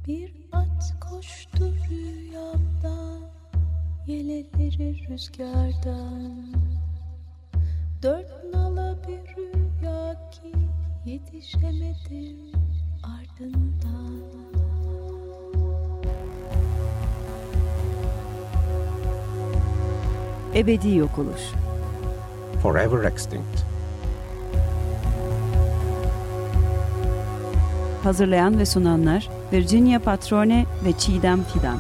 Bir at koştu rüyamda, yeleleri rüzgardan. Dört nala bir rüya ki yetişemedim ardından. Ebedi yok oluş. Forever extinct. Hazırlayan ve sunanlar Virginia Patrone ve Çiğdem Fidan.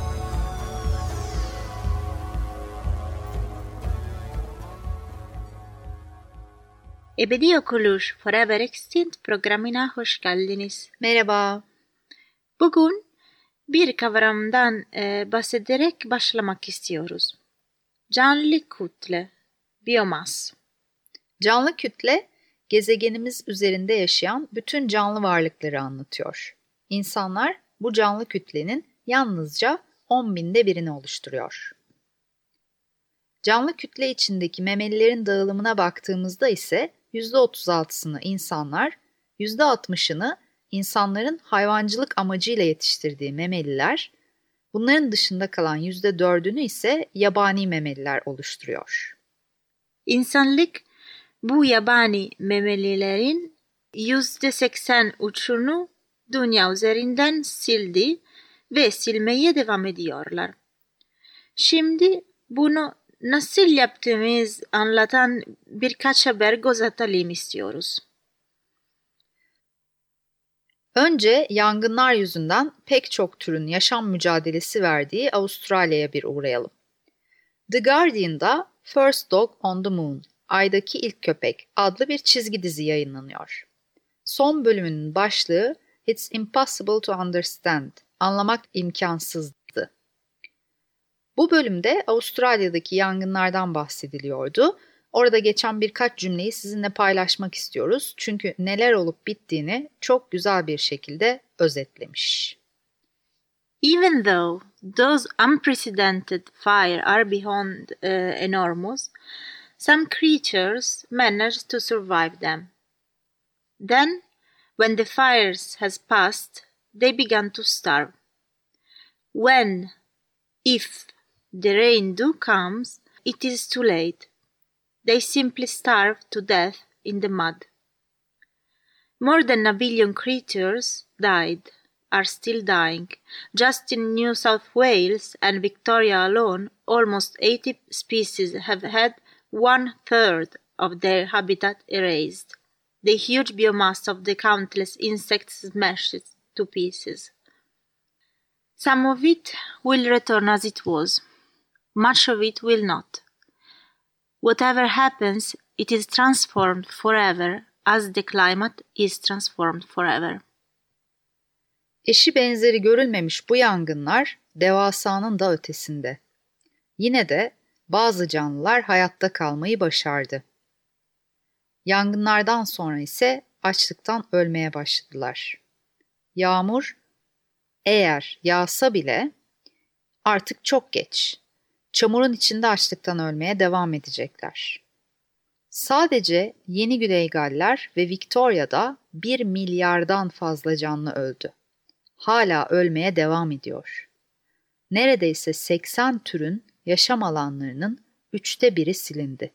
Ebedi Yok Oluş Forever Extinct programına hoş geldiniz. Merhaba. Bugün bir kavramdan bahsederek başlamak istiyoruz. Canlı kütle, biyomas. Canlı kütle, gezegenimiz üzerinde yaşayan bütün canlı varlıkları anlatıyor. İnsanlar bu canlı kütlenin yalnızca 10.000'de birini oluşturuyor. Canlı kütle içindeki memelilerin dağılımına baktığımızda ise %36'sını insanlar, %60'ını insanların hayvancılık amacıyla yetiştirdiği memeliler, bunların dışında kalan %4'ünü ise yabani memeliler oluşturuyor. İnsanlık bu yabani memelilerin %83'ünü dünya üzerinden sildi ve silmeye devam ediyorlar. Şimdi bunu nasıl yaptığımız anlatan birkaç haber göz atalım istiyoruz. Önce yangınlar yüzünden pek çok türün yaşam mücadelesi verdiği Avustralya'ya bir uğrayalım. The Guardian'da First Dog on the Moon, Ay'daki İlk Köpek adlı bir çizgi dizi yayınlanıyor. Son bölümünün başlığı It's Impossible to Understand, anlamak imkansızdı. Bu bölümde Avustralya'daki yangınlardan bahsediliyordu. Orada geçen birkaç cümleyi sizinle paylaşmak istiyoruz. Çünkü neler olup bittiğini çok güzel bir şekilde özetlemiş. Even though those unprecedented fires are beyond enormous, some creatures manage to survive them. Then, when the fires has passed, they began to starve. When, if the rain do comes, it is too late. They simply starve to death in the mud. More than a billion creatures died, are still dying. Just in New South Wales and Victoria alone, almost 80 species have had 1/3 of their habitat erased. The huge biomass of the countless insects smashed to pieces. Some of it will return as it was. Much of it will not. Whatever happens, it is transformed forever as the climate is transformed forever. Eşi benzeri görülmemiş bu yangınlar devasanın da ötesinde. Yine de bazı canlılar hayatta kalmayı başardı. Yangınlardan sonra ise açlıktan ölmeye başladılar. Yağmur eğer yağsa bile artık çok geç. Çamurun içinde açlıktan ölmeye devam edecekler. Sadece Yeni Güney Galler ve Victoria'da 1 milyardan fazla canlı öldü. Hala ölmeye devam ediyor. Neredeyse 80 türün yaşam alanlarının 1/3 silindi.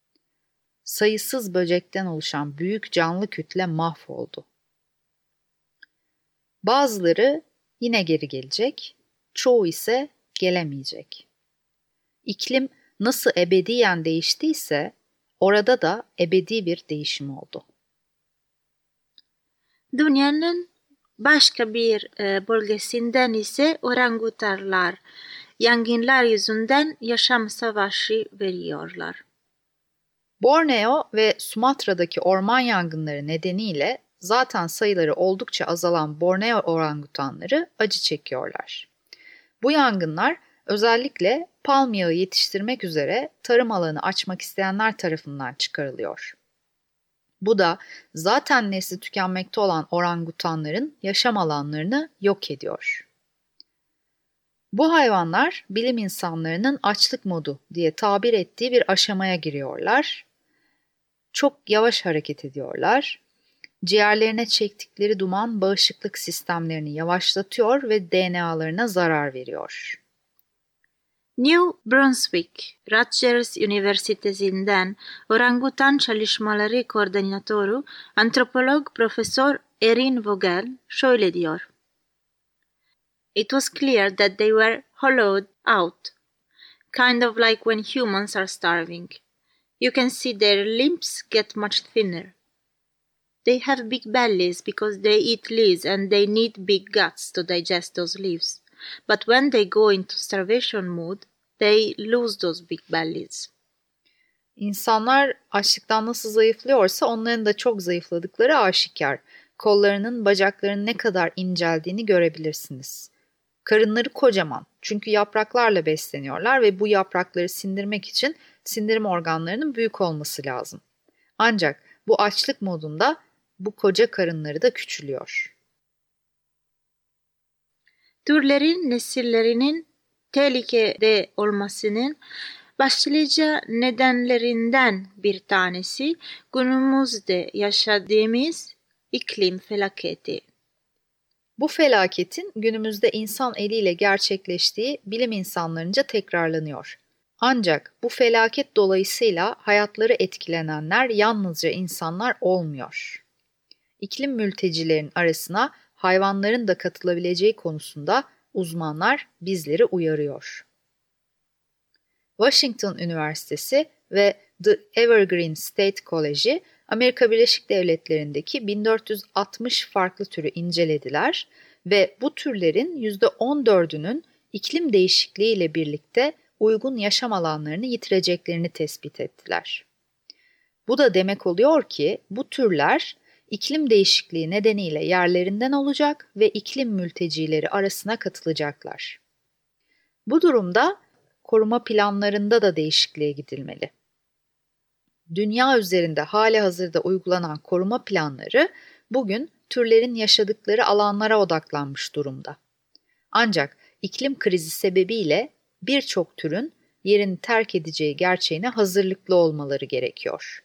Sayısız böcekten oluşan büyük canlı kütle mahvoldu. Bazıları yine geri gelecek, çoğu ise gelemeyecek. İklim nasıl ebediyen değiştiyse orada da ebedi bir değişim oldu. Dünyanın başka bir bölgesinden ise orangutanlar yangınlar yüzünden yaşam savaşı veriyorlar. Borneo ve Sumatra'daki orman yangınları nedeniyle zaten sayıları oldukça azalan Borneo orangutanları acı çekiyorlar. Bu yangınlar özellikle palm yağı yetiştirmek üzere tarım alanı açmak isteyenler tarafından çıkarılıyor. Bu da zaten nesli tükenmekte olan orangutanların yaşam alanlarını yok ediyor. Bu hayvanlar bilim insanlarının açlık modu diye tabir ettiği bir aşamaya giriyorlar. Çok yavaş hareket ediyorlar Ciğerlerine çektikleri duman bağışıklık sistemlerini yavaşlatıyor ve DNA'larına zarar veriyor. New Brunswick, Rutgers Üniversitesi'nden orangutan çalışmaları koordinatörü antropolog Profesör Erin Vogel şöyle diyor. It was clear that they were hollowed out, kind of like when humans are starving. You can see their limbs get much thinner. They have big bellies because they eat leaves and they need big guts to digest those leaves. But when they go into starvation mood, they lose those big bellies. İnsanlar açlıktan nasıl zayıflıyorsa onların da çok zayıfladıkları aşikar. Kollarının, bacaklarının ne kadar inceldiğini görebilirsiniz. Karınları kocaman çünkü yapraklarla besleniyorlar ve bu yaprakları sindirmek için sindirim organlarının büyük olması lazım. Ancak bu açlık modunda bu koca karınları da küçülüyor. Türlerin nesillerinin tehlikede olmasının başlıca nedenlerinden bir tanesi günümüzde yaşadığımız iklim felaketi. Bu felaketin günümüzde insan eliyle gerçekleştiği bilim insanlarınca tekrarlanıyor. Ancak bu felaket dolayısıyla hayatları etkilenenler yalnızca insanlar olmuyor. İklim mültecilerin arasına hayvanların da katılabileceği konusunda uzmanlar bizleri uyarıyor. Washington Üniversitesi ve The Evergreen State College'i Amerika Birleşik Devletleri'ndeki 1460 farklı türü incelediler ve bu türlerin %14'ünün iklim değişikliği ile birlikte uygun yaşam alanlarını yitireceklerini tespit ettiler. Bu da demek oluyor ki bu türler iklim değişikliği nedeniyle yerlerinden olacak ve iklim mültecileri arasına katılacaklar. Bu durumda koruma planlarında da değişikliğe gidilmeli. Dünya üzerinde halihazırda uygulanan koruma planları bugün türlerin yaşadıkları alanlara odaklanmış durumda. Ancak iklim krizi sebebiyle birçok türün yerini terk edeceği gerçeğine hazırlıklı olmaları gerekiyor.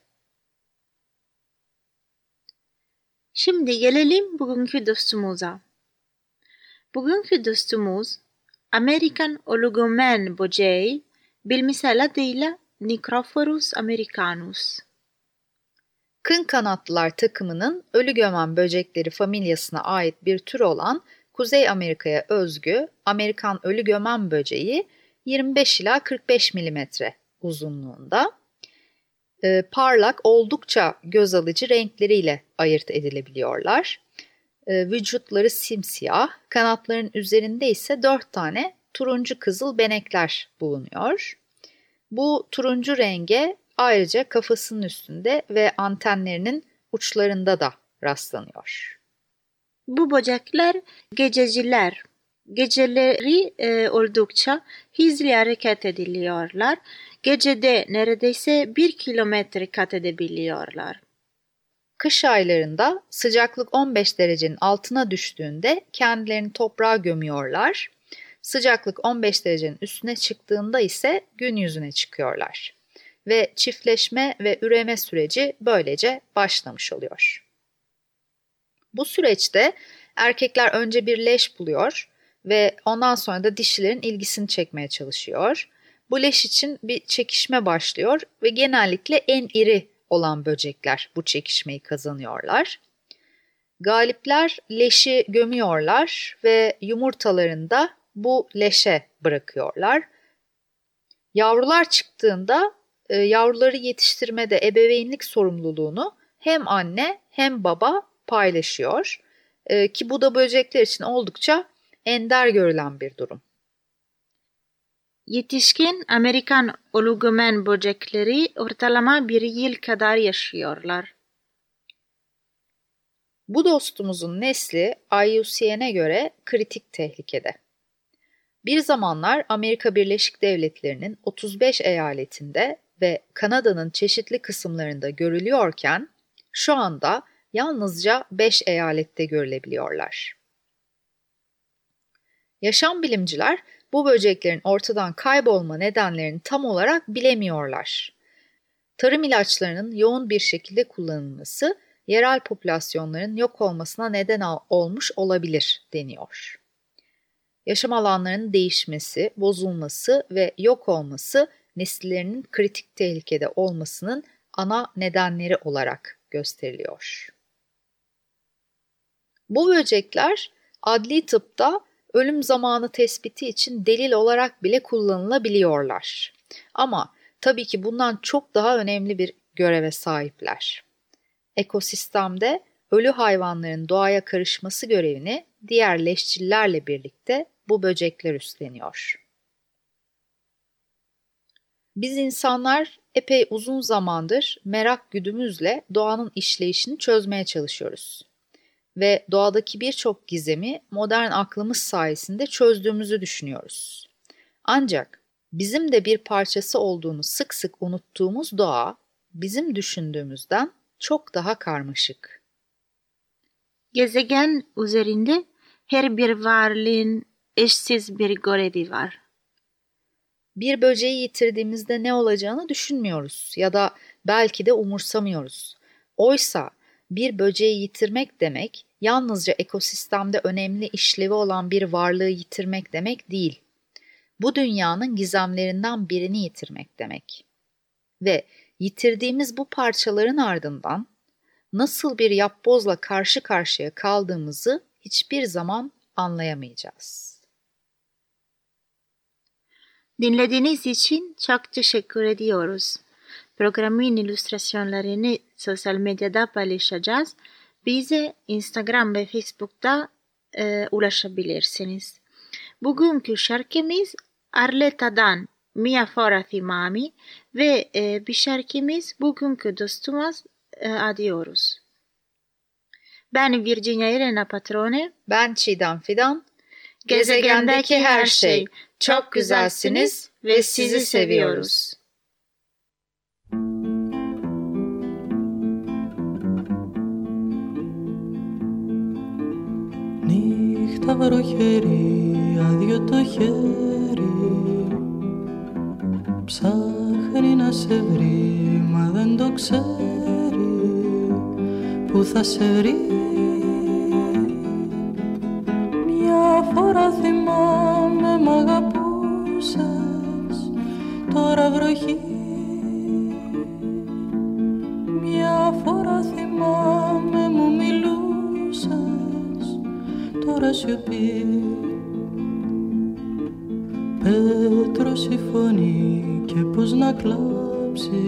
Şimdi gelelim bugünkü dostumuza. Bugünkü dostumuz Amerikan oligomen böceği, bilimsel adıyla Necrophorus americanus. Kın kanatlılar takımının ölü gömen böcekleri familyasına ait bir tür olan Kuzey Amerika'ya özgü Amerikan ölü gömen böceği 25 ila 45 mm uzunluğunda, parlak oldukça göz alıcı renkleriyle ayırt edilebiliyorlar. Vücutları simsiyah, kanatların üzerinde ise 4 tane turuncu kızıl benekler bulunuyor. Bu turuncu renge ayrıca kafasının üstünde ve antenlerinin uçlarında da rastlanıyor. Bu böcekler gececiler. Geceleri oldukça hızlı hareket ediliyorlar. Gecede neredeyse 1 kilometre kat edebiliyorlar. Kış aylarında sıcaklık 15 derecenin altına düştüğünde kendilerini toprağa gömüyorlar. Sıcaklık 15 derecenin üstüne çıktığında ise gün yüzüne çıkıyorlar. Ve çiftleşme ve üreme süreci böylece başlamış oluyor. Bu süreçte erkekler önce bir leş buluyor ve ondan sonra da dişilerin ilgisini çekmeye çalışıyor. Bu leş için bir çekişme başlıyor ve genellikle en iri olan böcekler bu çekişmeyi kazanıyorlar. Galipler leşi gömüyorlar ve yumurtalarını da bu leşe bırakıyorlar. Yavrular çıktığında yavruları yetiştirmede ebeveynlik sorumluluğunu hem anne hem baba paylaşıyor. Ki bu da böcekler için oldukça ender görülen bir durum. Yetişkin Amerikan oligomen böcekleri ortalama 1 yıl kadar yaşıyorlar. Bu dostumuzun nesli IUCN'e göre kritik tehlikede. Bir zamanlar Amerika Birleşik Devletleri'nin 35 eyaletinde ve Kanada'nın çeşitli kısımlarında görülüyorken şu anda yalnızca 5 eyalette görülebiliyorlar. Yaşam bilimciler bu böceklerin ortadan kaybolma nedenlerini tam olarak bilemiyorlar. Tarım ilaçlarının yoğun bir şekilde kullanılması yerel popülasyonların yok olmasına neden olmuş olabilir deniyor. Yaşam alanlarının değişmesi, bozulması ve yok olması nesillerinin kritik tehlikede olmasının ana nedenleri olarak gösteriliyor. Bu böcekler adli tıpta ölüm zamanı tespiti için delil olarak bile kullanılabiliyorlar. Ama tabii ki bundan çok daha önemli bir göreve sahipler. Ekosistemde ölü hayvanların doğaya karışması görevini diğer leşçillerle birlikte bu böcekler üstleniyor. Biz insanlar epey uzun zamandır merak güdümüzle doğanın işleyişini çözmeye çalışıyoruz. Ve doğadaki birçok gizemi modern aklımız sayesinde çözdüğümüzü düşünüyoruz. Ancak bizim de bir parçası olduğunu sık sık unuttuğumuz doğa, bizim düşündüğümüzden çok daha karmaşık. Gezegen üzerinde her bir varlığın eşsiz bir görevi var. Bir böceği yitirdiğimizde ne olacağını düşünmüyoruz ya da belki de umursamıyoruz. Oysa bir böceği yitirmek demek, yalnızca ekosistemde önemli işlevi olan bir varlığı yitirmek demek değil. Bu dünyanın gizemlerinden birini yitirmek demek. Ve yitirdiğimiz bu parçaların ardından nasıl bir yapbozla karşı karşıya kaldığımızı hiçbir zaman anlayamayacağız. Dinlediğiniz için çok teşekkür ediyoruz. Programın illüstrasyonlarını sosyal medyada paylaşacağız. Bize Instagram ve Facebook'ta ulaşabilirsiniz. Bugünkü şarkımız Arleta'dan Mia Fora Thimami ve bir şarkımız bugünkü dostumuz adıyoruz. Ben Virginia Elena Patrone. Ben Çiğdem Fidan. Gezegendeki her şey. Çok güzelsiniz ve sizi seviyoruz. Νύχτα βροχερή, άδειο το χέρι, ψάχνει να σε βρει, μα δεν το ξέρει, που θα σε βρει. Μια φορά θυμάμαι μ' αγαπούσες, τώρα βροχή. Μια φορά θυμάμαι μου μιλούσες, τώρα σιωπή. Πέτρος η φωνή και πως να κλάψει,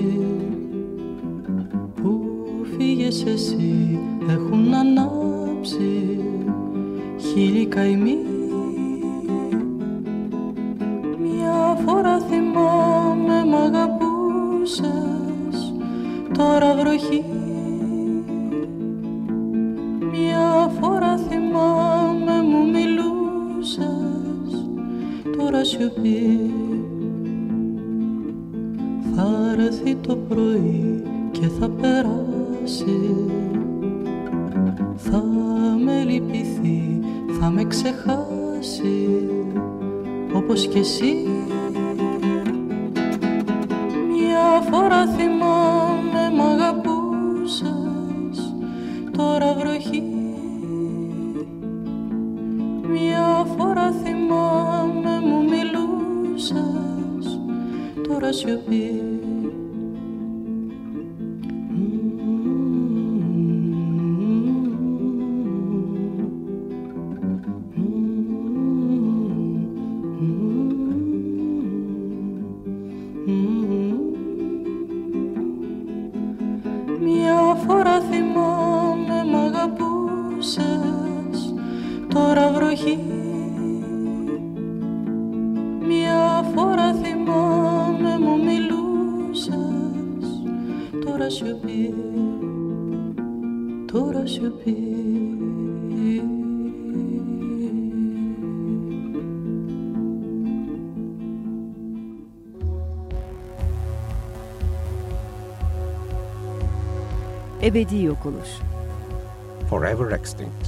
που φύγες εσύ έχουν ανάψει χίλιοι καημοί. Μια φορά θυμάμαι μ' αγαπούσες, τώρα βροχή. Μια φορά θυμάμαι μου μιλούσες, τώρα σιωπή. Θα έρθει το πρωί και θα περάσει, θα με λυπηθεί, θα με ξεχάσει, όπως κι εσύ. Μια φορά θυμάμαι μ' αγαπούσες, τώρα βροχή. Μια φορά θυμάμαι μου μιλούσες, τώρα σιωπή. Μια φορά θυμάμαι μ' αγαπούσες, τώρα βροχή. Μια φορά θυμάμαι μου μιλούσες, τώρα σιωπή, τώρα σιωπή. Ebedi yok oluş. Forever extinct.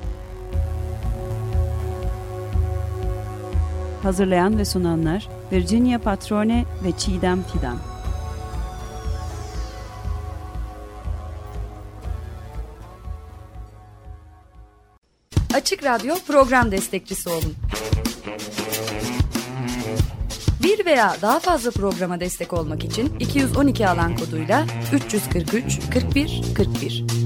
Hazırlayan ve sunanlar Virginia Patrone ve Çiğdem Fidan. Açık Radyo program destekçisi olun. Bir veya daha fazla programa destek olmak için 212 alan koduyla 343 41 41.